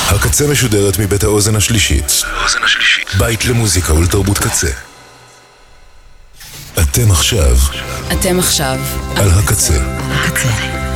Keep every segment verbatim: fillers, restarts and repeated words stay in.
הקצה משודרת מבית האוזן השלישית. בית למוזיקה ולתרבות קצה. אתם עכשיו. אתם עכשיו. על הקצה. הקצה.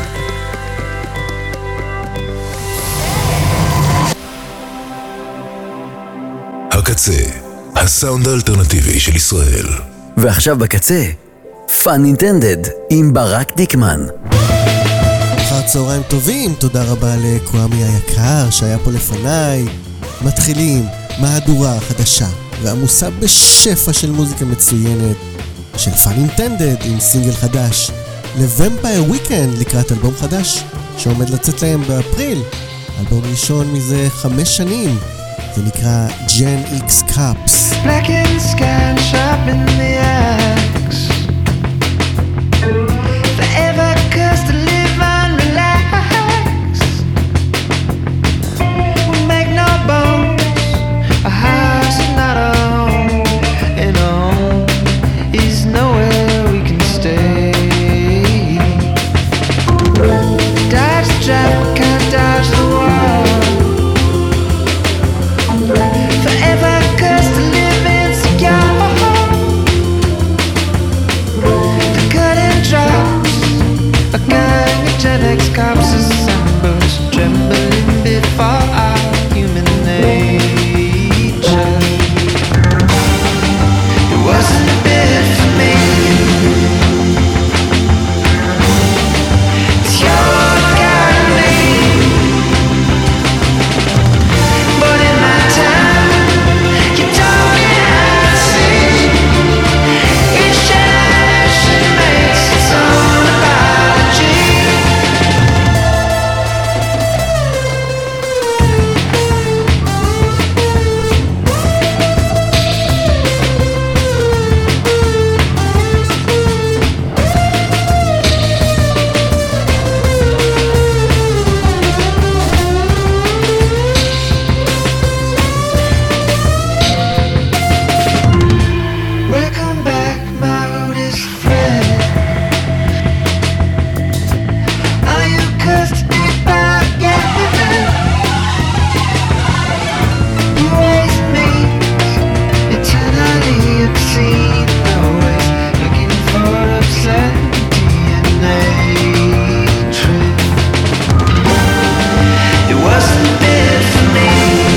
הקצה, הסאונד האלטרנטיבי של ישראל. ועכשיו בקצה, פאן אינטנדד עם ברק דיקמן. אחר צהריים טובים, תודה רבה לקוואמי היקר שהיה פה לפניי. מתחילים מהדורה חדשה ועמוסה בשפע של מוזיקה מצוינת של פאן אינטנדד עם סינגל חדש לוומפייר וויקנד לקראת אלבום חדש שעומד לצאת להם באפריל. אלבום ראשון מזה חמש שנים, זה נקרא ג'ן איקס קאפס. Black and sky sharp in the axe, forever cursed to live and relax. We make no bones, a house is not a home, and a home is nowhere we can stay. Dodge the traffic, can't dodge the wall. Forever cursed to live insecure. The curtain drops, a gang of Gen X cops assembles, trembling before our human nature. It wasn't meant for me. It's your kind of me. But in my time, you taught me how to see. Each generation makes its own apology. Welcome back, my oldest friend. Are you cursed to be back again? You raised me eternally obscene, always looking for absurdity and hatred. It wasn't meant for me.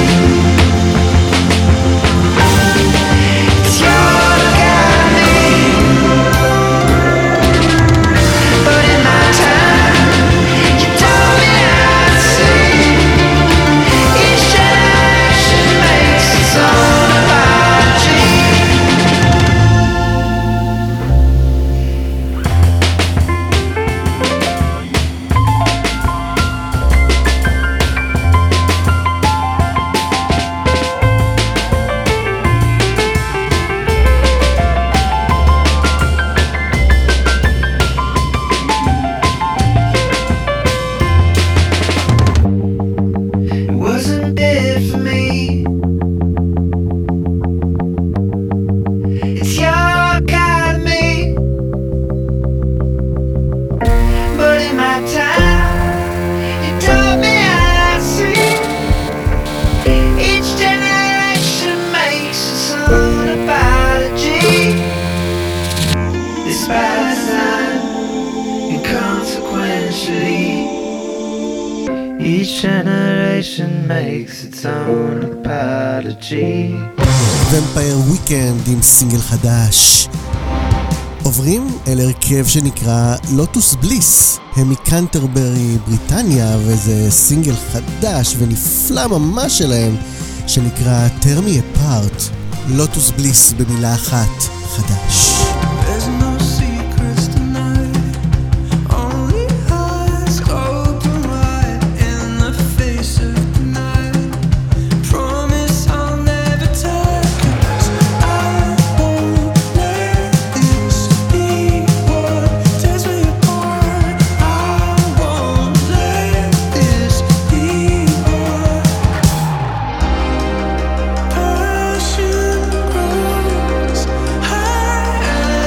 It's your kind of me. But in my time, you taught me how to see. Each generation makes its own apology. It wasn't meant for me. It's your kind of me. But in my time, you taught me how to see. Each generation makes its own apology. Despite time, inconsequentially. Each generation makes its own apology. וומפייר וויקנד עם סינגל חדש. עוברים אל הרכב שנקרא לוטוס בליס. הם מקנטרברי בריטניה, וזה סינגל חדש ונפלא ממש שלהם שנקרא Tear Me Apart. לוטוס בליס במילה אחת, חדש. There's no secrets tonight, only eyes open wide in the face of the night. Promise I'll never tell, 'cause I won't let this be what tears me apart. I won't let this be what passion grows high.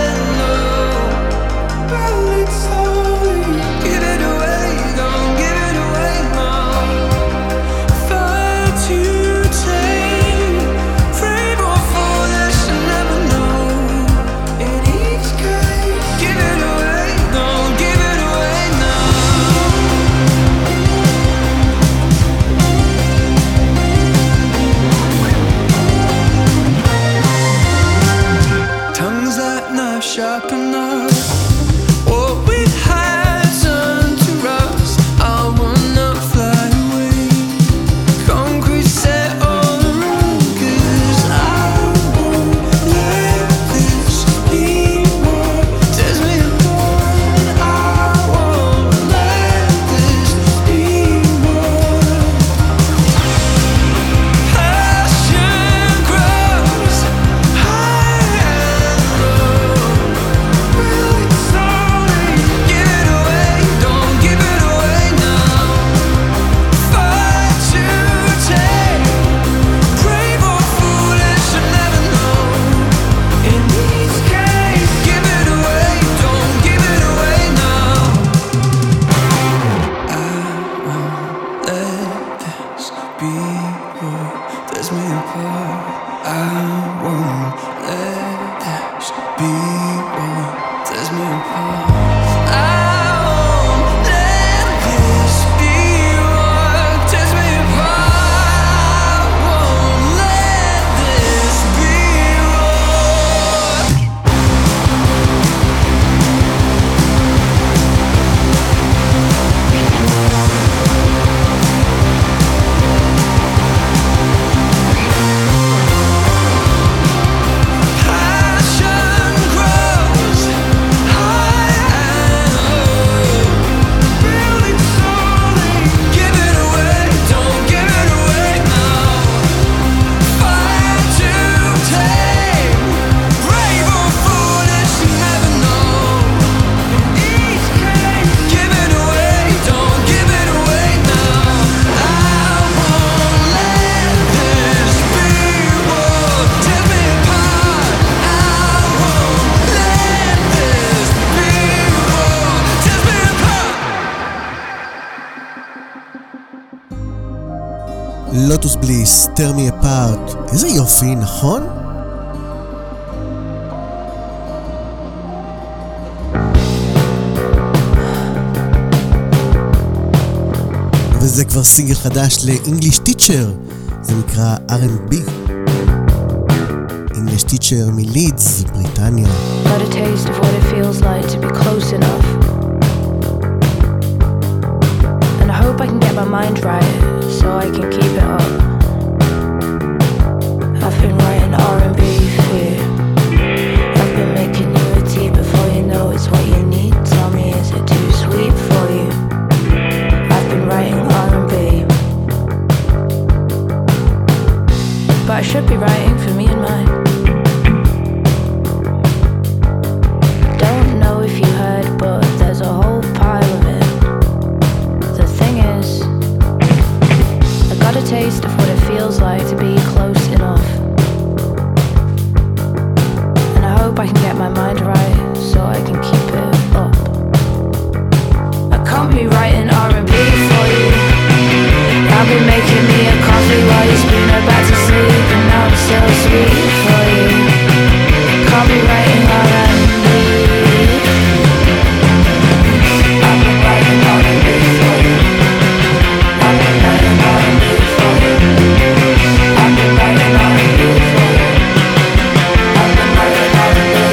לוטוס בליס, Tear Me Apart. איזה יופי, נכון? וזה כבר סינגל חדש ל-English Teacher, זה נקרא אר אנד בי. English Teacher מלידס, בריטניה. Got a taste of what it feels like to be close enough, and I hope I can get my mind right so I can keep it up. I've been writing R and B for you. I've been making you a tea before you know it's what you need. Tell me, is it too sweet for you? I've been writing R and B, but I should be writing for me and mine. Don't know if you heard, but there's a whole pile of it. The thing is, I got a taste of what it feels like to be close enough, and I hope I can get my mind right so I can keep it up. I can't be writing R and B for you. I've been making me a coffee while you're spinning back to sleep, and now I'm so sweet for you. Can't be writing R and B. I've been writing R and B for you. I've been writing R and B for you. I've been writing R and B for you. I've been writing R and B.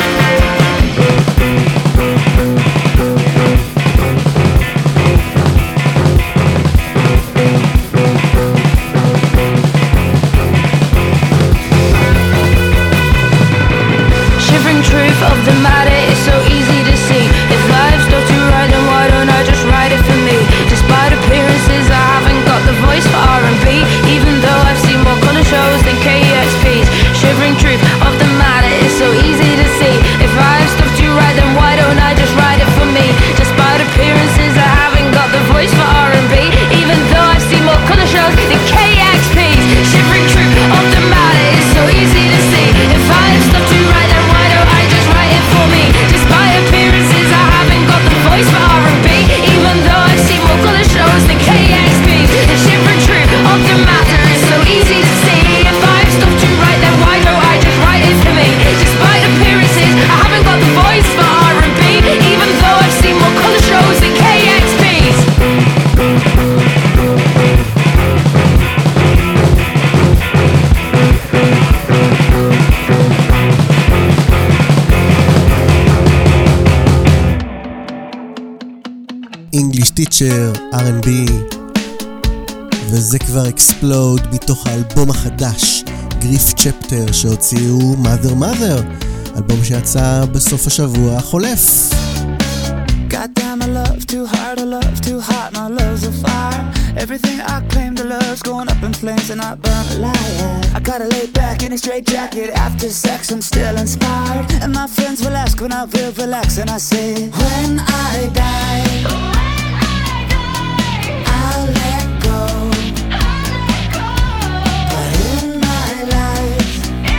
Shivering truth of the matter is so easy to see. If life's not too right, then why don't I just write it for me? Despite appearances, I haven't got the voice for R and B, even though I've seen more colour shows than K X P's. Shivering truth of the matter is so easy to see. If life's not too right, then why don't I just write it for me? Despite appearances, I haven't got the voice for R and B, even though I've seen more colour shows than K X P's. Shivering truth of the matter is so easy to see. If life's not too right, then why don't I just write it for me? Despite appearances, I haven't got the voice for R and B, even though I've seen more colour shows than K X P's. The shivering truth of the matter is so easy to see. If I've stopped too right, then why don't I just write it for me? Despite appearances, I haven't got the voice for R and B, even though I've seen more colour shows than K X P's. English Teacher, אר אנד בי, וזה כבר אקספלוד מתוך האלבום החדש, גריף צ'פטר, שהוציאו Mother Mother, אלבום שיצא בסוף השבוע החולף. Goddamn, I love too hard, I love too hot, my love's a fire. Everything I claim to love's going up in flames and I burn a liar. I gotta lay back in a straight jacket, after sex I'm still inspired. And my friends will ask when I feel relaxed, and I say, when I die, I'll let go. But in my life,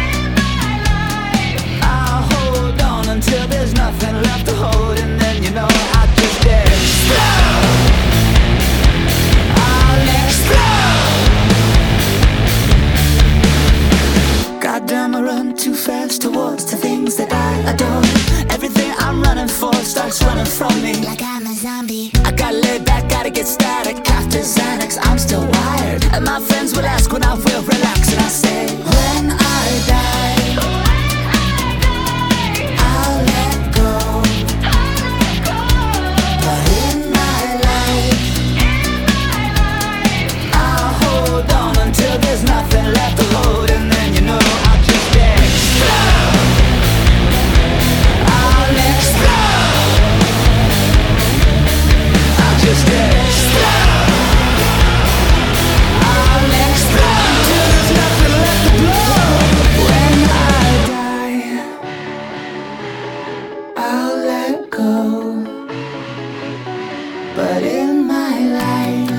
I'll hold on until there's nothing left to hold, and then you know I just explode. I'll explode. Goddamn, I run too fast towards the things that I adore. Everything I'm running for starts running from me, like I'm a zombie. I gotta lay back, gotta get static. After Xanax, I'm still wired. And my friends will ask when I will relax, and I say, when I die, I'll let go. But in my life, I'll hold on until there's nothing left to hold, and then you know I'll just explode. I'll explode. I'll just explode. I'll explode till there's nothing left to blow. When I die, I'll let go. But in my life,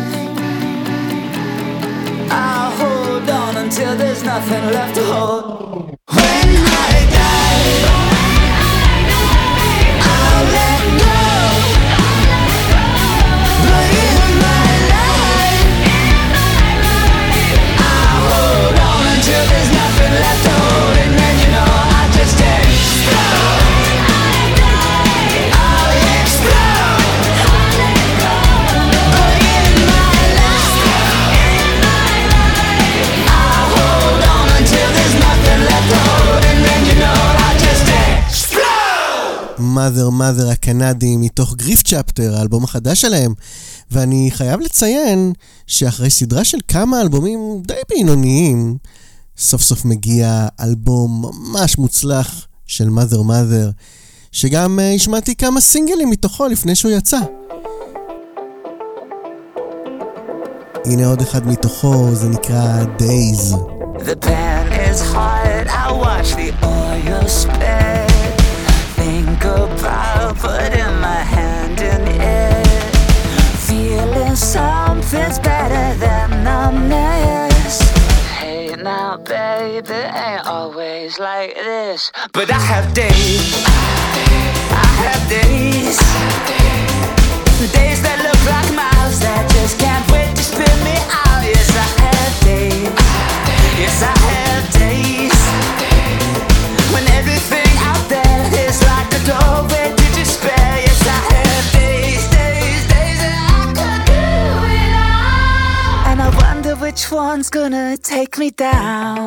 I'll hold on until there's nothing left to hold. When I die, I'll let go. But in my life, Mother Mother הקנדים מתוך גריף צ'פטר, האלבום החדש שלהם. ואני חייב לציין שאחרי סדרה של כמה אלבומים די בינוניים, סוף סוף מגיע אלבום ממש מוצלח של Mother Mother, שגם uh, השמעתי כמה סינגלים מתוכו לפני שהוא יצא. הנה עוד אחד מתוכו, זה נקרא Days. The pan is hot, I watch the oil spill. Think about putting my hand in it. Feeling something's better than numbness. Hey now baby, ain't always like this. But I have days, I have days, days that look like miles that just can't wait to spin me out. Yes, I have days, yes I have days, when everything out there is like a doorway to despair. Yes, I have days, days, days that I could do it all. And I wonder which one's gonna take me down.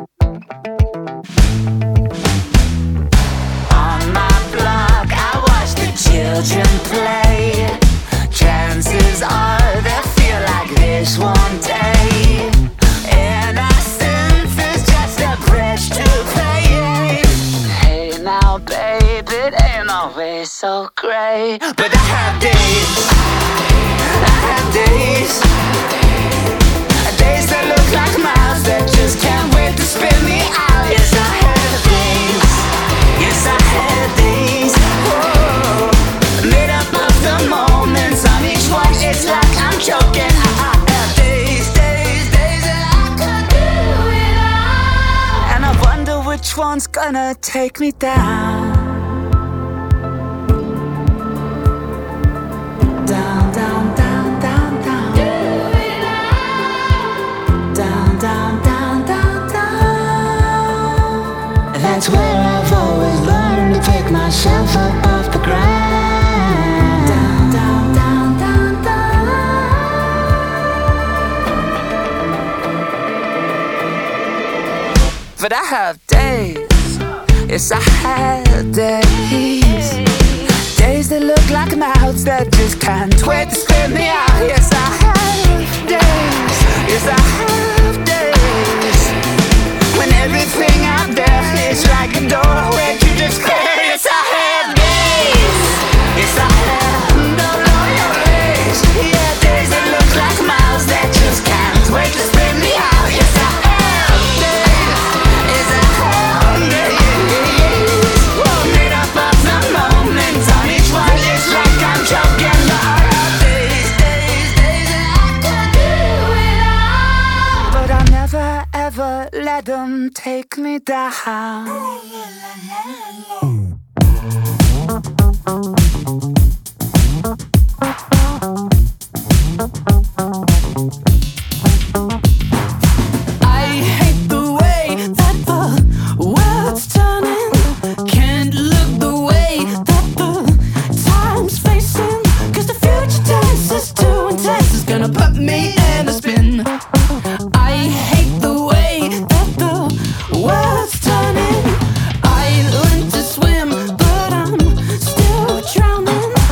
On my block I watch the children play. Chances are they'll feel like this one day. And I sense it's just a price to pay. Hey now baby, it ain't always so great. But I have days, I have days, days that look like miles that just can't wait to spin me out. Yes, I have days, yes I have days, oh, made up of the moments on each one. It's like I'm joking. I have days, days, days that I could do it all. And I wonder which one's gonna take me down. Down, down, down, down, down. Do it all. Down, down, down, down, down. That's where I've always learned to pick myself up off the ground. Down, down, down, down, down. But I have days, yes I have days, days that look like mouths that just can't wait to spit me out. Yes I have days, yes I have days, when everything out there is like a doorway to despair. Yes I have days, yes I have no loyal days. Yeah, days that look like miles that just can't wait to spit me out. Yes I have days, yes I have days, made up of the moments on each one. It's like I'm joking. But I have days, days, days that I could do it all. But I'll never ever let them take me down. I hate the way that the world's turning. Can't look the way that the time's facing. Cause the future tense is too intense. It's gonna put me in a spin. I hate the way that the world's turning. I learned to swim, but I'm still drowning.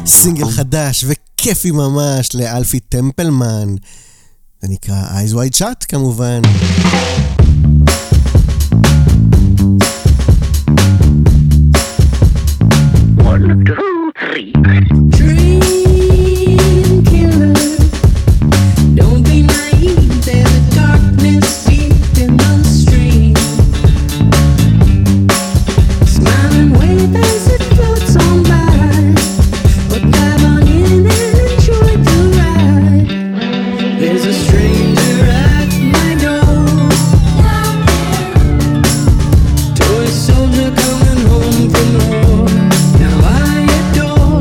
סינגל חדש וכיפי ממש לאלפי טמפלמן. זה נקרא Eyes Wide Shut כמובן. One, two, three. Dream killer, don't be naive. There's a darkness deep in the stream. Smile and wave as it floats on by, or dive on in and enjoy the ride. There's a stranger at my door, toy soldier coming home from war. Now I adore.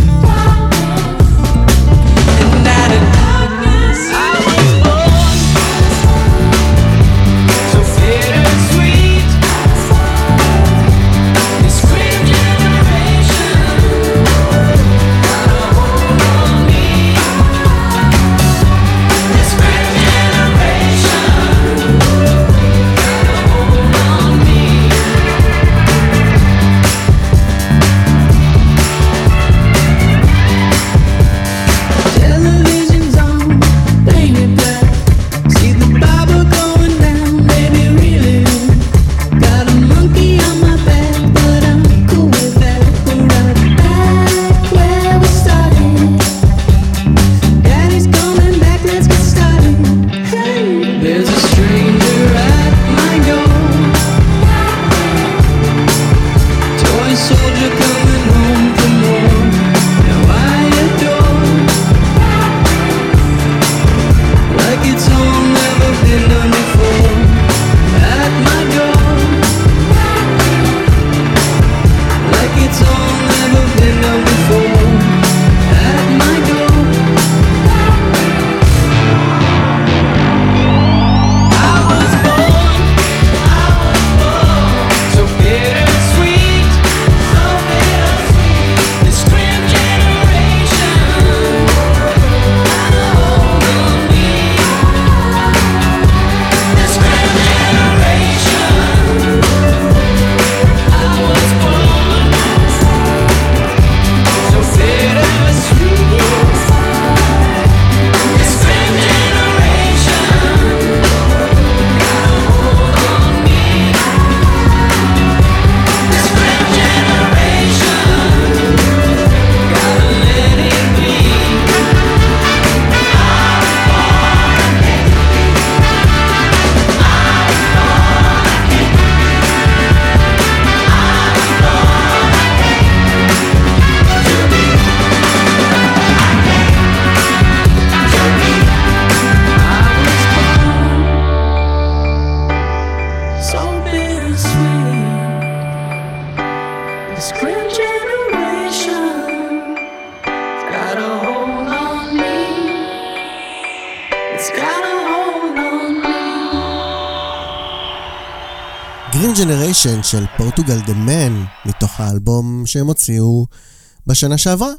Green Generation של פורטוגל דה מן, מתוך האלבום שהם הוציאו בשנה שעברה.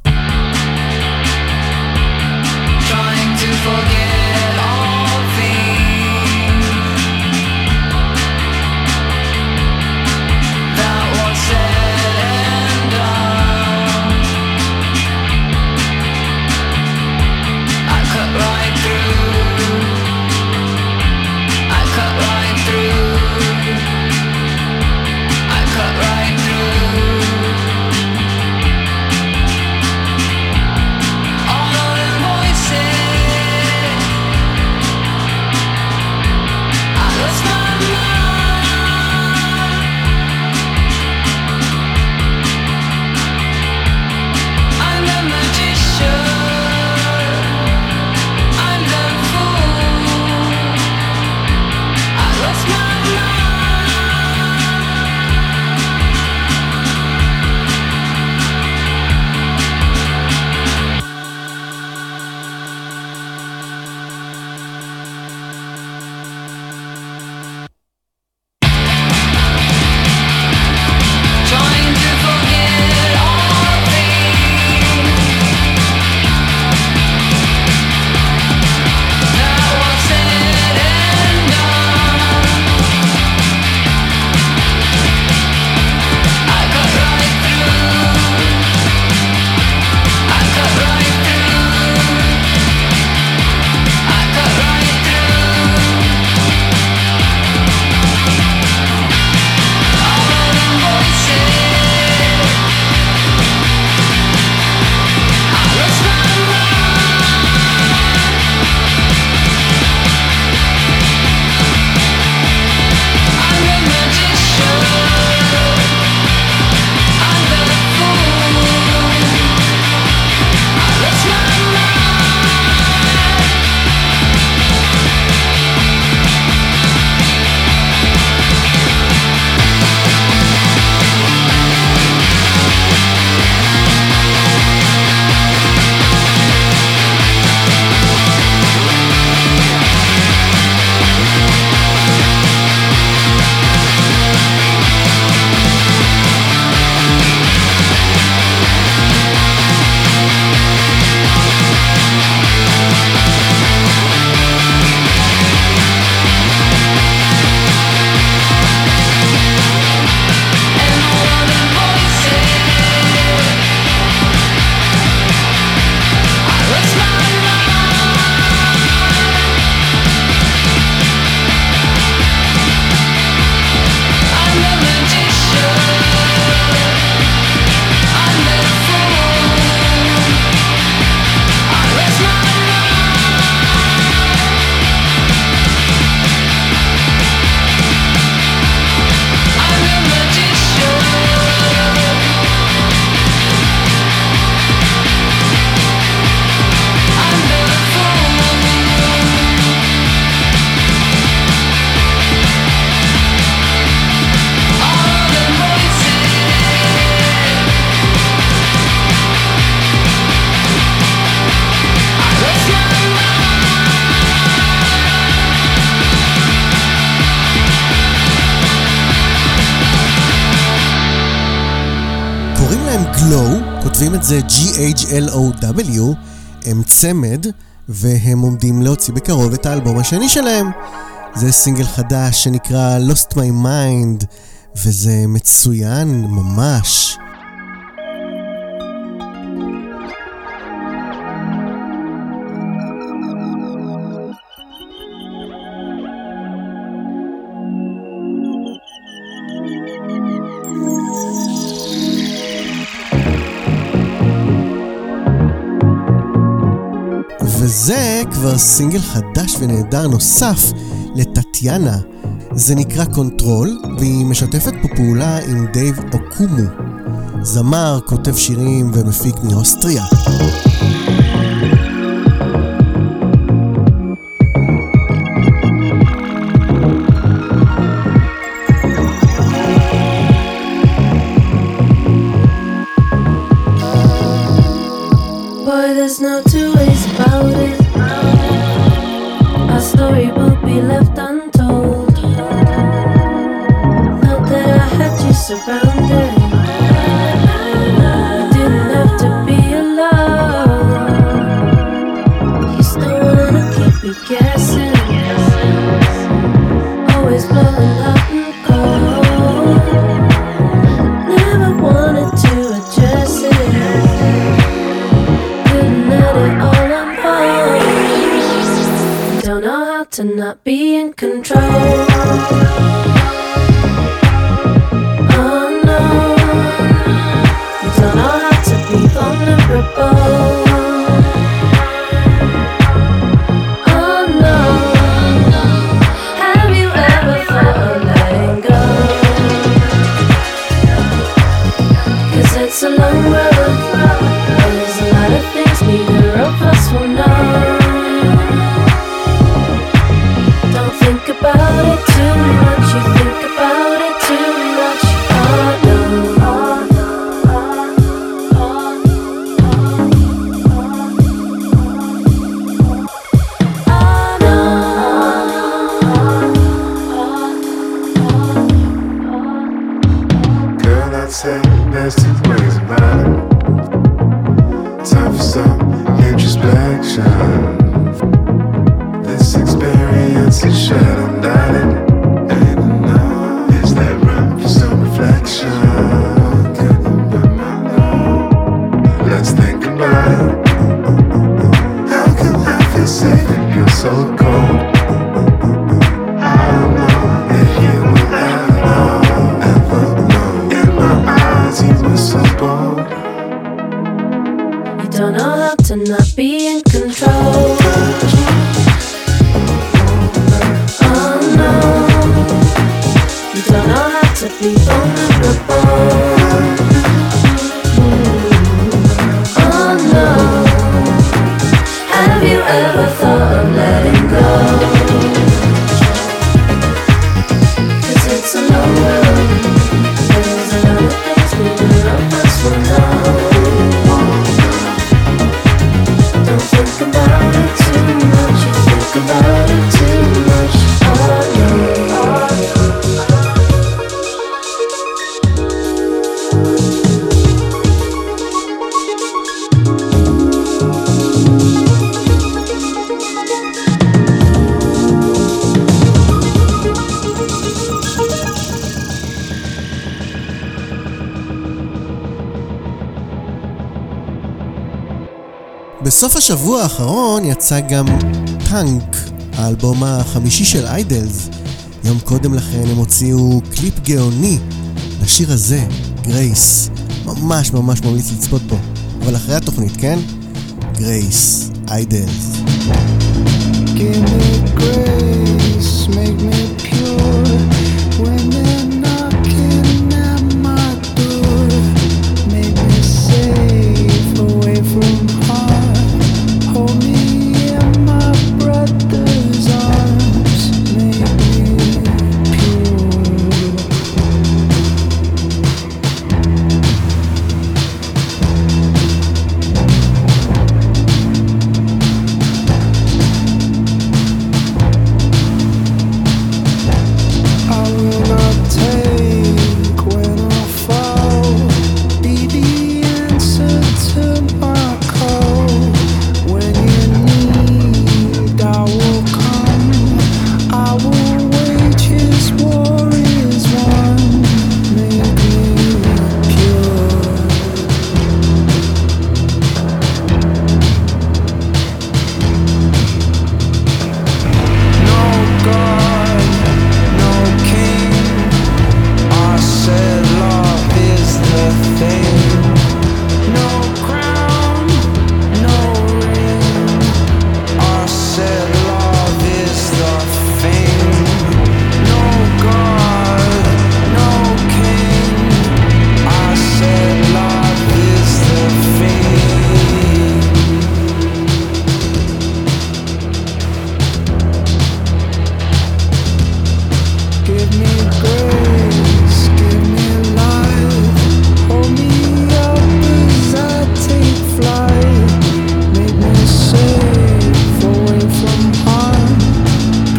Trying to forget all things that was said and done. I cut right through. I cut right through. I cut right through. All of them voices קוראים את זה G H L O W, הם צמד, והם עומדים להוציא בקרוב את האלבום השני שלהם. זה סינגל חדש שנקרא Lost My Mind, וזה מצוין ממש. וזה כבר סינגל חדש ונהדר נוסף לטטיאנה. זה נקרא קונטרול, והיא משתפת פה פעולה עם דייב אוקומו, זמר, כותב שירים ומפיק מאוסטריה. Boy, there's no two ways about it. Our story will be left untold. Thought that I had you surrounded. You didn't have to be alone. You still wanna keep me guessing. Always blowing hot and cold. Never wanted to address it. Don't know how to not be in control. Oh no, you don't know how to be vulnerable. Oh no, have you ever thought of letting go? 'Cause it's a long road, and there's a lot of things neither of us will know. Think about it too much, you think about it too much. Oh no, oh no, oh no, girl, I'd say there's two ways about it. Time for some introspection. This experience is shared undoubted. Ain't enough. Is there room for some reflection? Can you be my love? Let's think about it. How can I feel safe if you're so cold? I don't know if you will ever know, ever know. In my eyes you were so bold. you don't know how to not be in control. You don't know how to be vulnerable. Oh no, have you ever thought of letting go? 'Cause it's a long road, there's a lot of things neither of us will know. Don't think about it too much, you think about it too much. Oh no, oh no. בסוף השבוע האחרון יצא גם טאנק, האלבום החמישי של איידלס. יום קודם לכן הם הוציאו קליפ גאוני לשיר הזה, גרייס. ממש ממש ממליץ לצפות בו. אבל אחרי התוכנית, כן? גרייס, איידלס. Give me grace, make me pure when they're knocking at my door. Make me safe away from harm. Hold me in my brother's arms. Make me pure.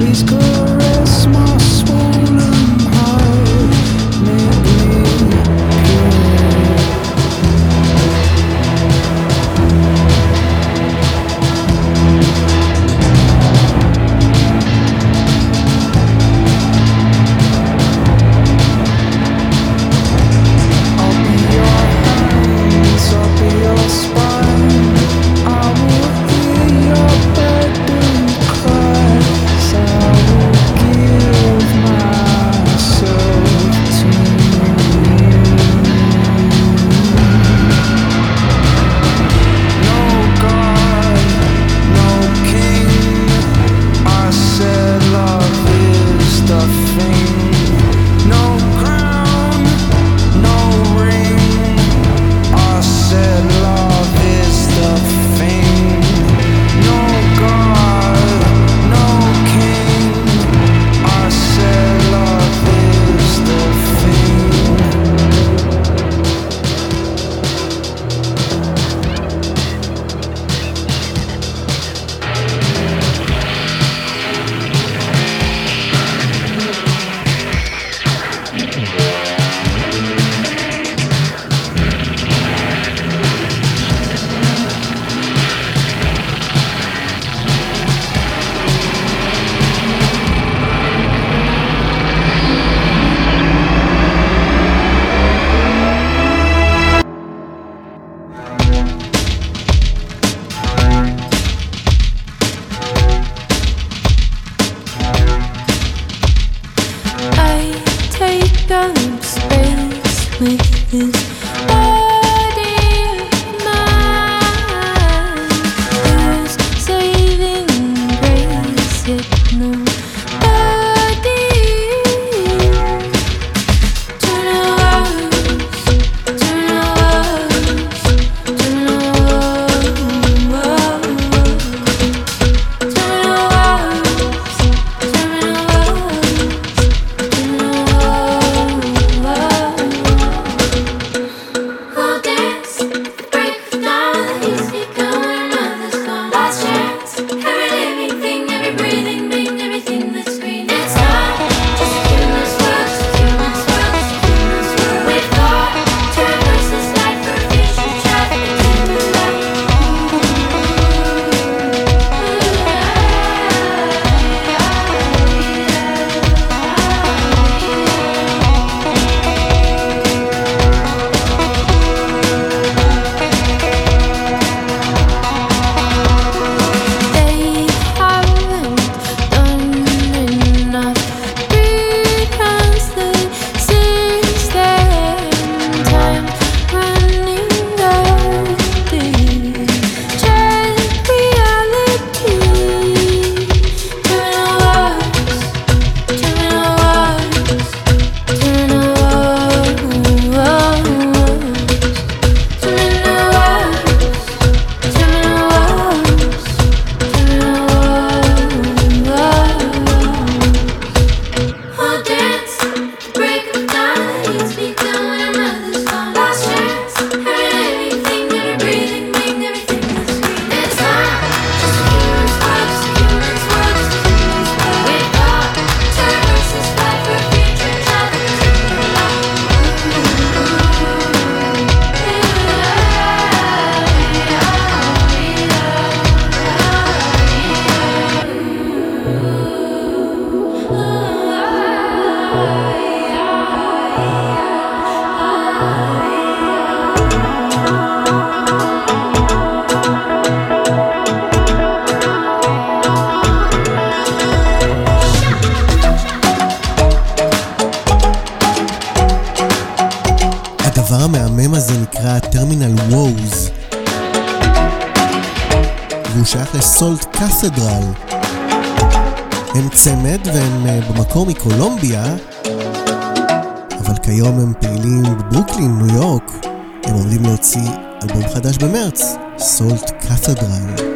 Please caress my swollen heart, make me הדבר המהמם הזה נקרא טרמינל ווז, והוא שייך לסולט קתדרל. הם צמד והם במקור מקולומביה, אבל כיום הם פעילים בברוקלין, ניו יורק. הם עומדים להוציא אלבום חדש במרץ, סולט קתדרל.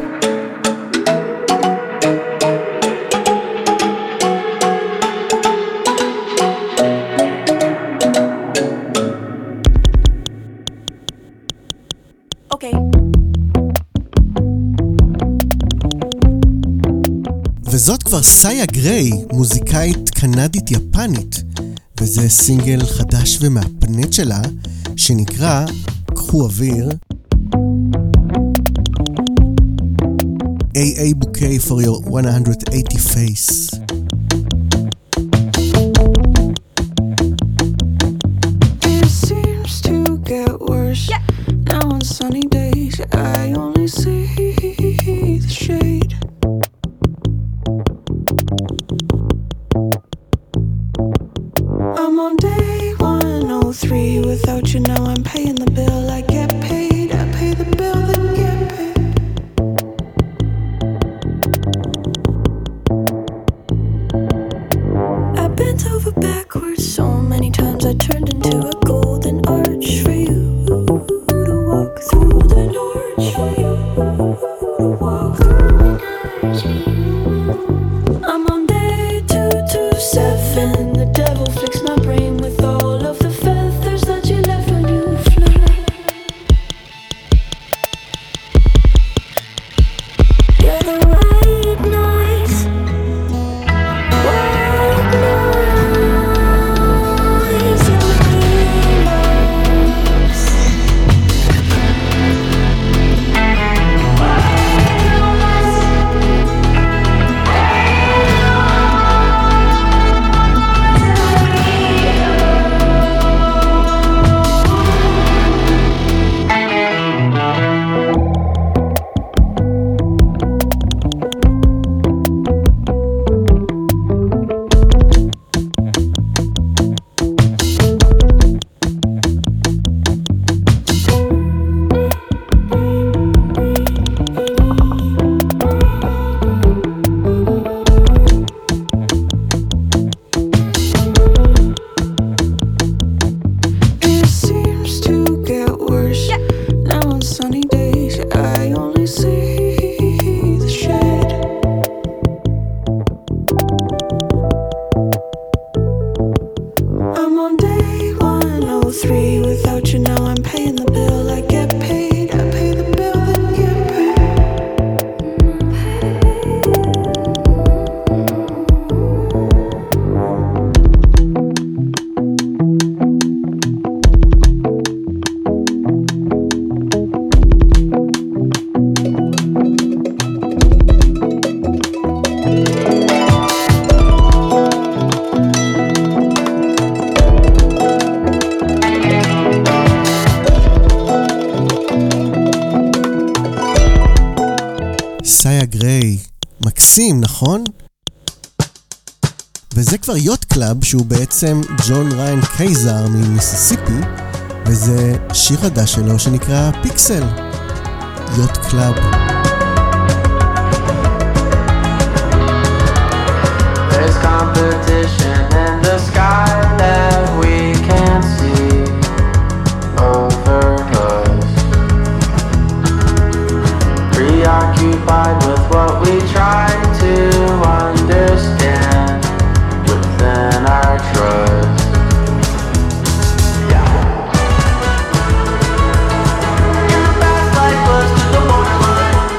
וזאת כבר סאיה גריי, מוזיקאית קנדית יפנית, וזה סינגל חדש ומהפנט שלה, שנקרא קחו אוויר A A bouquet for your one hundred eighty face. It seems to get worse. Yeah. Now on sunny days I only see the shade. I'm on day one oh three without you. Now I'm paying the bill. I get paid. I pay the bill then get paid. I bent over backwards so many times I turned into a golden arch for you to walk through, the arch for you to walk through. I'm on day two two seven. The devil fixed my brain with all of the feathers that you left when you flew. You're the white noise, white noise in the dreamers. It seems to get worse. Yeah. Now on sunny days I only see the shade. I'm on day one oh three without you. Now I'm paying the bill. I get paid. I pay the bill then get paid. סאיה גריי, מקסים, נכון? וזה כבר יוט קלאב, שהוא בעצם ג'ון ריין קייזר ממיסיסיפי, וזה שיר חדש שלו שנקרא פיקסל. יוט קלאב. There's competition in the sky that we can't see over us. Preoccupied with what we try to understand within our trust. Yeah. In the past life was to the borderline.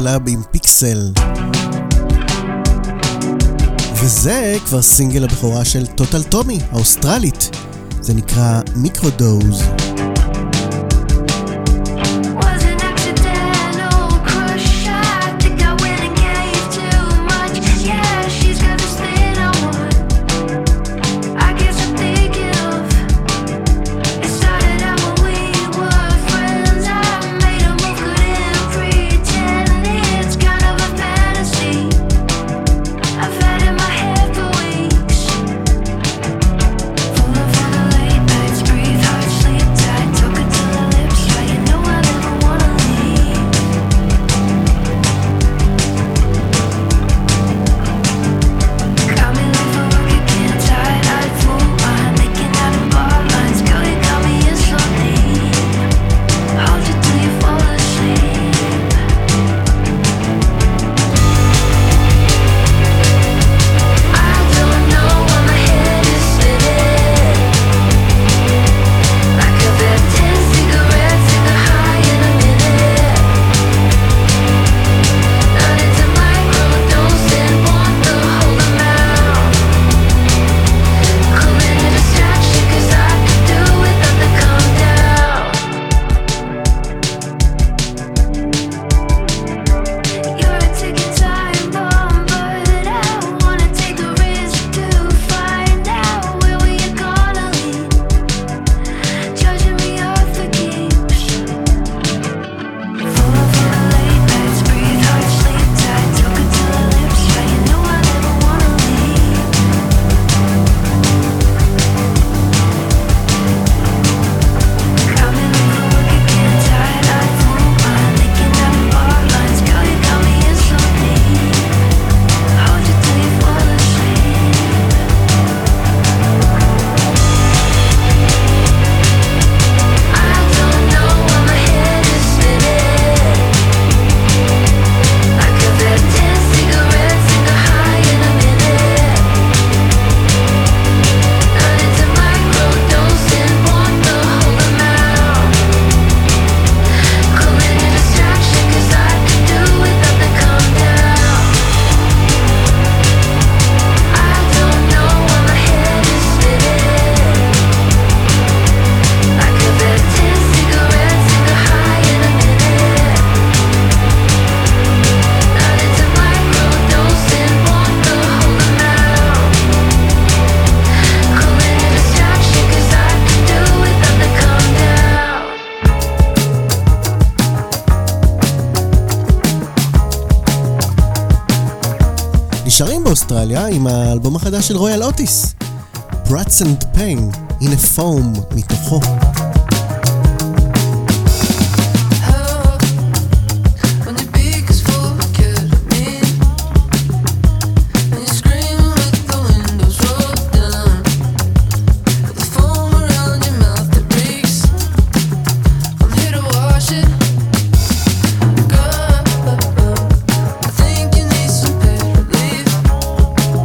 קלאב עם פיקסל. וזה כבר סינגל הבכורה של טוטל טומי, האוסטרלית. זה נקרא מיקרודוז. נשארים באוסטרליה עם האלבום החדש של רויאל אוטיס, Brats and Pain, הנה פום מתוכו.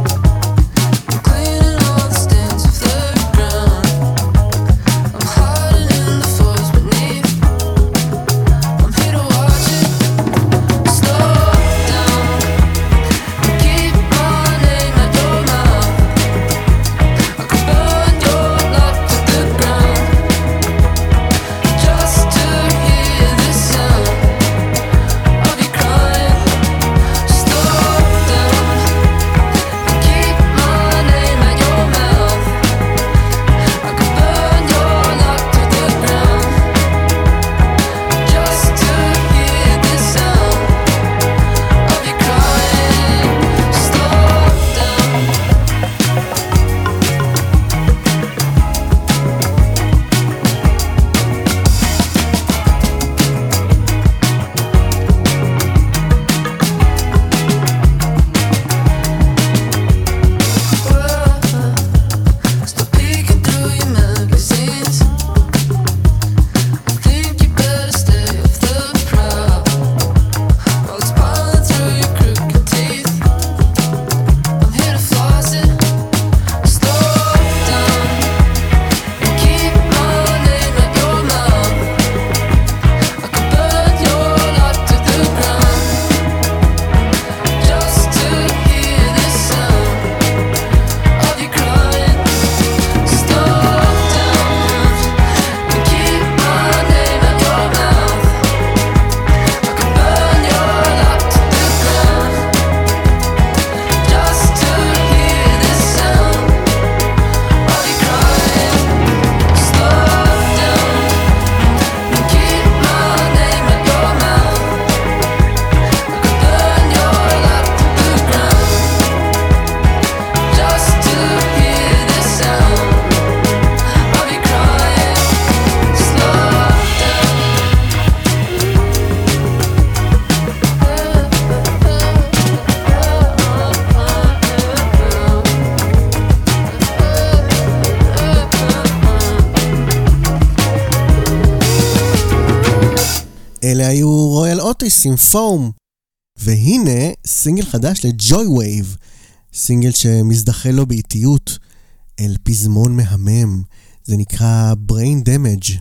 Hard אלה היו רויאל אוטיס עם פום. והנה סינגל חדש לג'וי וייב, סינגל שמזדחה לו באיטיות אל פזמון מהמם, זה נקרא Brain Damage.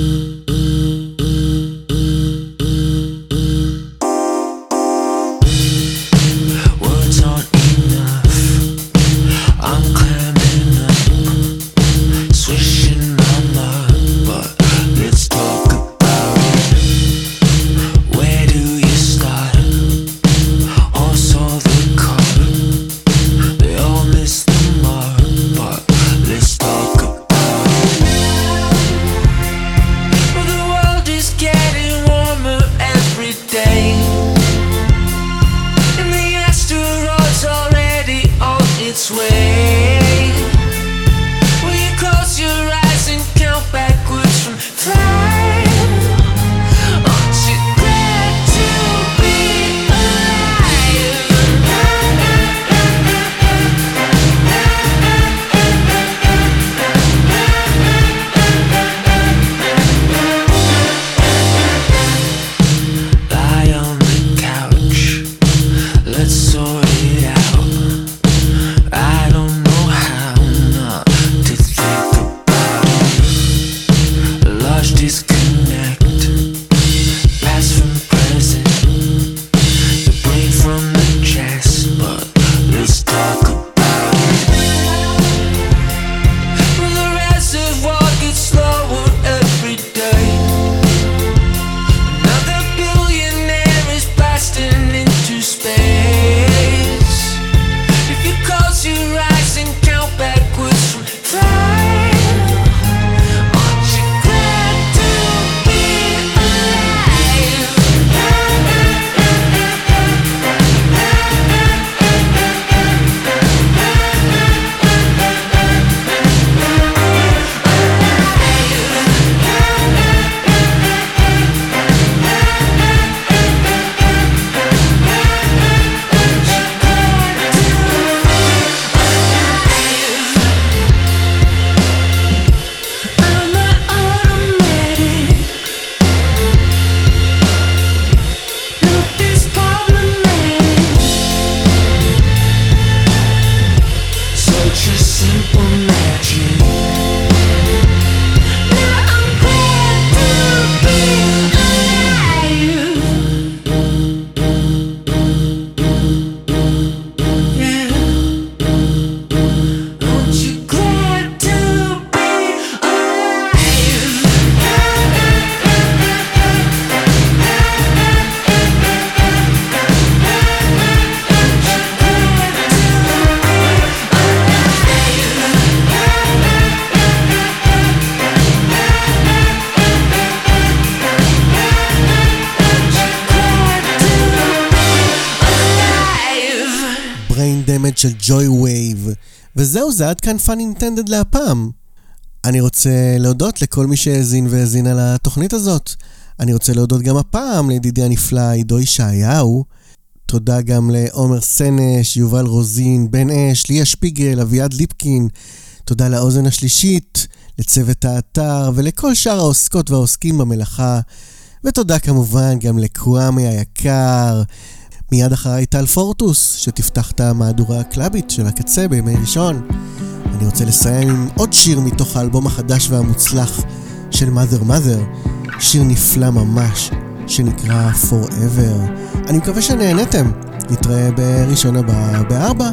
של ג'וי וייב. וזהו, זה עד כאן פאן אינטנדד להפעם. אני רוצה להודות לכל מי שהאזין והאזין על התוכנית הזאת. אני רוצה להודות גם הפעם לידידי הנפלא עידו ישעיהו. תודה גם לעומר סנש, יובל רוזין, בן אש, ליה שפיגל, אביעד ליפקין. תודה לאוזן השלישית, לצוות האתר ולכל שאר העוסקות והעוסקים במלאכה. ותודה כמובן גם לקוואמי היקר. מיד אחריי טל פורטוס, שתפתח את המהדורה הקלאבית של הקצה בימי ראשון. אני רוצה לסיים עם עוד שיר מתוך האלבום החדש והמוצלח של Mother Mother, שיר נפלא ממש, שנקרא Forever. אני מקווה שנהנתם. נתראה בראשון הבא בארבע.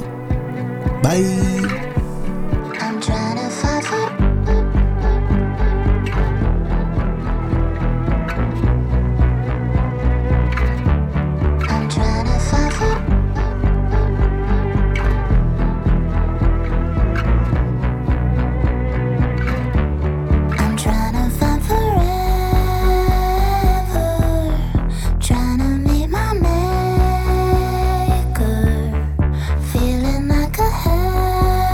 ביי. Feeling like a hell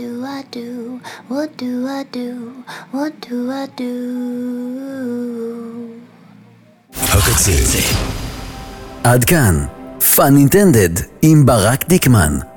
do I do? What do I do? What do I do? הקצה. עד כאן, פאן אינטנדד עם ברק דיקמן.